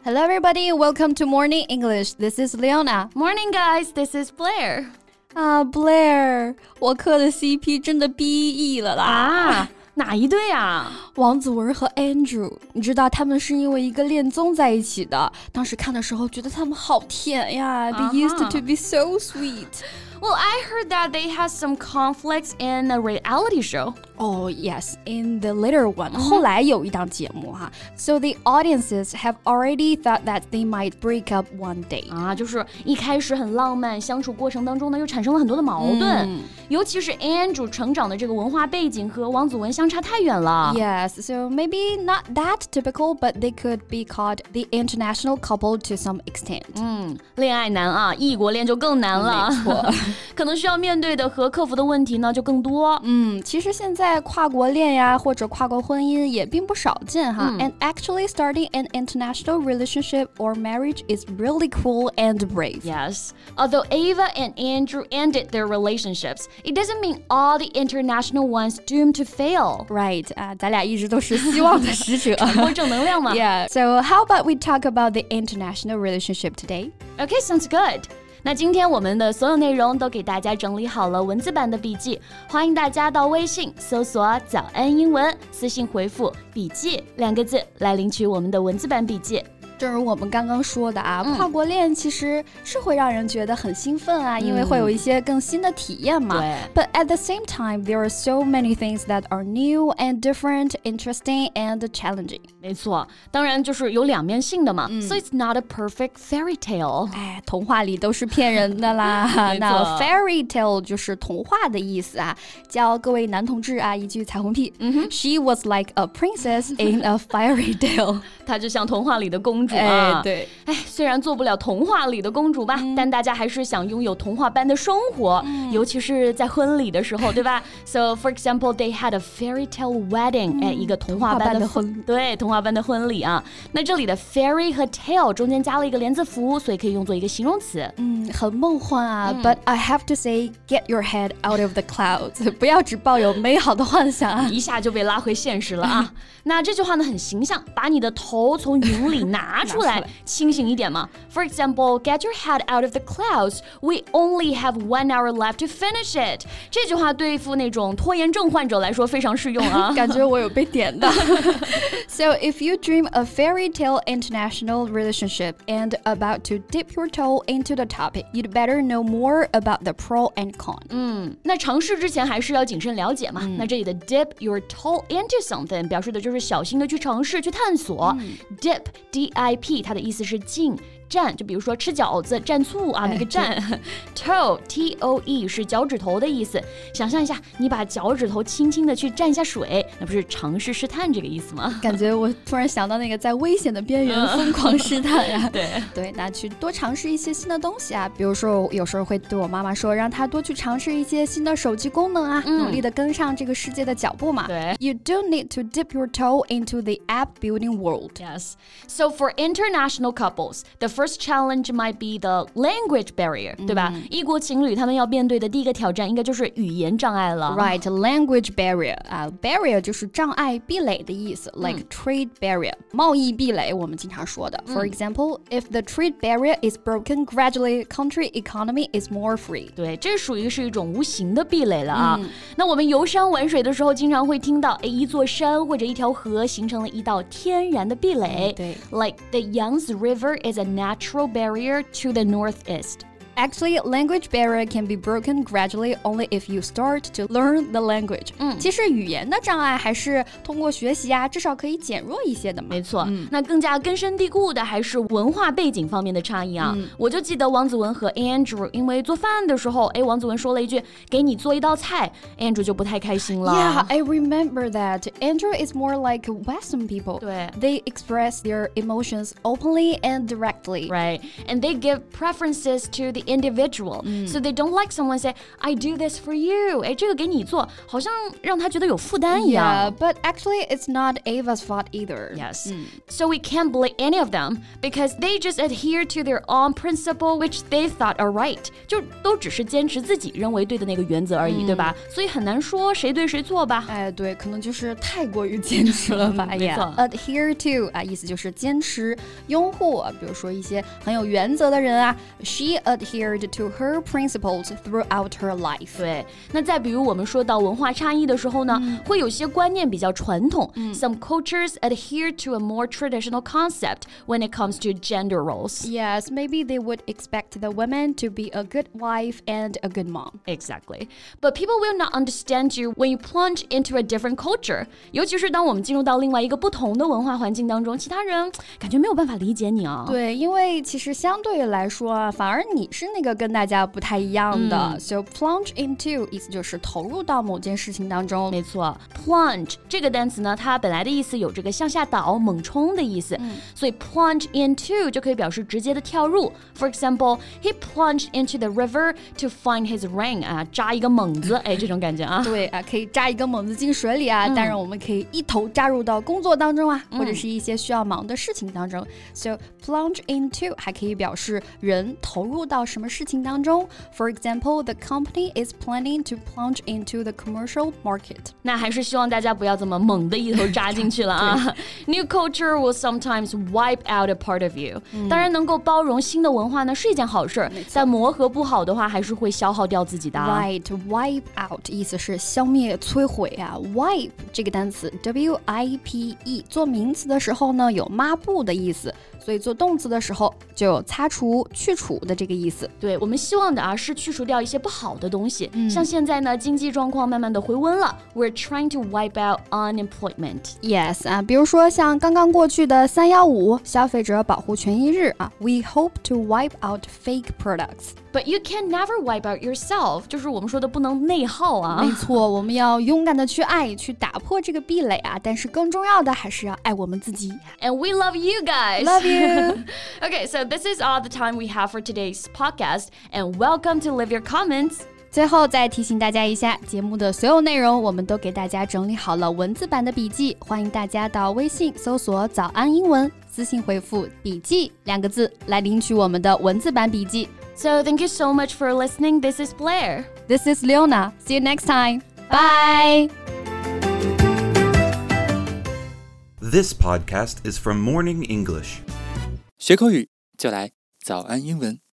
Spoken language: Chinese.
Hello everybody, welcome to Morning English. This is Leona. Morning guys, this is Blair. Blair, 我磕的 CP 真的 BE 了啦。 哪一对啊？ 王子文和 Andrew， 你知道他们是因为一个恋综在一起的。当时看的时候觉得他们好甜呀。They used to be so sweet.Well, I heard that they had some conflicts in a reality show. Oh, yes, in the later one. 后来有一档节目哈。So the audiences have already thought that they might break up one day. 就是一开始很浪漫，相处过程当中呢，又产生了很多的矛盾。尤其是 Andrew 成长的这个文化背景和王子文相差太远了。 Yes, so maybe not that typical, but they could be called the international couple to some extent. 恋爱难啊，异国恋就更难了。 没错。 可能需要面对的和克服的问题呢就更多。 其实现在跨国恋呀或者跨国婚姻也并不少见哈。And actually starting an international relationship or marriage is really cool and brave. Yes, although Ava and Andrew ended their relationships, it doesn't mean all the international ones doomed to fail. Right, 咱俩一直都是希望的使者。 传播正能量嘛。 Yeah, so how about we talk about the international relationship today? Okay, sounds good.那今天我们的所有内容都给大家整理好了文字版的笔记，欢迎大家到微信搜索早安英文，私信回复笔记2个字来领取我们的文字版笔记。 正如我们刚刚说的跨国恋其实是会让人觉得很兴奋因为会有一些更新的体验嘛。But at the same time, there are so many things that are new and different, interesting and challenging. 没错，当然就是有两面性的嘛。So it's not a perfect fairy tale. 童话里都是骗人的啦。那 fairy tale 就是童话的意思教各位男同志一句彩虹屁。She was like a princess in a fairy tale. 她就像童话里的公主对。 虽然做不了童话里的公主吧，但大家还是想拥有童话般的生活，尤其是在婚礼的时候，对吧？So for example, they had a fairy tale wedding. 一个童话般的婚，对，童话般的婚礼那这里的 fairy 和 tale 中间加了一个连字符，所以可以用作一个形容词。 很梦幻But I have to say, get your head out of the clouds. 不要只抱有美好的幻想一下就被拉回现实了那这句话呢很形象，把你的头从云里拿出来清醒一点嘛。For example, get your head out of the clouds. We only have 1 hour left to finish it. 这句话对付那种拖延症患者来说非常适用感觉我有被点到So if you dream a fairy tale international relationship and about to dip your toe into the topic, you'd better know more about the pro and con. 那尝试之前还是要谨慎了解嘛。那这里的 dip your toe into something 表示的就是小心的去尝试去探索。Dip, D-I-P 它的意思是浸蘸，就比如说吃饺子蘸醋那个蘸。toe, T-O-E 是脚趾头的意思。想象一下，你把脚趾头轻轻的去蘸一下水，那不是尝试试探这个意思吗？ 感觉我突然想到那个在危险的边缘疯狂试探对，那去多尝试一些新的东西比如说我有时候会对我妈妈说，让她多去尝试一些新的手机功能努力的跟上这个世界的脚步嘛。 对 You do need to dip your toe into the app building world. Yes. So for international couples, the first challenge might be the language barrier, 对吧？异国情侣他们要面对的第一个挑战应该就是语言障碍了。 Right, language barrier. Barrier 就是障碍、壁垒的意思，like trade barrier. 贸易壁垒我们经常说的。For example, if the trade barrier is broken, gradually country economy is more free. 对，这属于是一种无形的壁垒了那我们游山玩水的时候，经常会听到，一座山或者一条河形成了一道天然的壁垒。 对 ，like the Yangtze River is a natural barrier to the northeast. Actually, language barrier can be broken gradually only if you start to learn the language. 其实语言的障碍还是通过学习至少可以减弱一些的嘛。 没错，那更加根深蒂固的还是文化背景方面的差异我就记得王子文和 Andrew 因为做饭的时候，王子文说了一句给你做一道菜 ，Andrew 就不太开心了。 Yeah, I remember that. Andrew is more like Western people. 对 They express their emotions openly and directly. Right, and they give preferences to the individual. So they don't like someone say, I do this for you. 哎，这个给你做，好像让他觉得有负担一样。 Yeah, but actually it's not Ava's fault either. Yes. So we can't blame any of them because they just adhere to their own principle which they thought are right. 就都只是坚持自己认为对的那个原则而已，对吧？所以很难说谁对谁错吧。 哎，对，可能就是太过于坚持了吧。 没错。 Adhere to 啊，意思就是坚持、拥护。比如说一些很有原则的人啊 ，She adhered to her principles throughout her life. 对，那再比如我们说到文化差异的时候呢，会有些观念比较传统。Some cultures adhere to a more traditional concept when it comes to gender roles. Yes, maybe they would expect the woman to be a good wife and a good mom. Exactly. But people will not understand you when you plunge into a different culture. 尤其是当我们进入到另外一个不同的文化环境当中，其他人感觉没有办法理解你啊。 对，因为其实相对来说啊，反而你是那个跟大家不太一样的。So plunge into 意思就是投入到某件事情当中。 没错 ，plunge 这个单词呢，它本来的意思有这个向下倒、猛冲的意思，所以 plunge into 就可以表示直接的跳入。For example, he plunged into the river to find his ring 啊，扎一个猛子，哎，这种感觉啊。 对啊，可以扎一个猛子进水里啊，当然我们可以一头扎入到工作当中啊，或者是一些需要忙的事情当中。So plunge into 还可以表示人投入到什么事情当中。For example, the company is planning to plunge into the commercial market. 那还是希望大家不要这么猛的一头扎进去了啊。New culture will sometimes wipe out a part of you. 当然能够包容新的文化呢是一件好事，但磨合不好的话还是会消耗掉自己的。 Right, wipe out 意思是消灭、摧毁啊。Wipe 这个单词 W-I-P-E 做名词的时候呢有抹布的意思，所以做动词的时候就有擦除、去除的这个意思。 对，我们希望的啊是去除掉一些不好的东西。像现在呢经济状况慢慢的回温了 ，We're trying to wipe out unemployment. Yes 啊，比如说像刚刚过去的315消费者保护权益日啊 ，We hope to wipe out fake products. But you can never wipe out yourself. 就是我们说的不能内耗啊。 没错，我们要勇敢的去爱，去打破这个壁垒啊。但是更重要的还是要爱我们自己。 And we love you guys. Love you. Okay, so this is all the time we have for today's podcast. And welcome to Leave Your Comments. 最后再提醒大家一下，节目的所有内容我们都给大家整理好了文字版的笔记，欢迎大家到微信搜索早安英文，私信回复笔记2个字来领取我们的文字版笔记。 So thank you so much for listening. This is Blair. This is Leona. See you next time. Bye. This podcast is from Morning English. 学口语就来早安英文。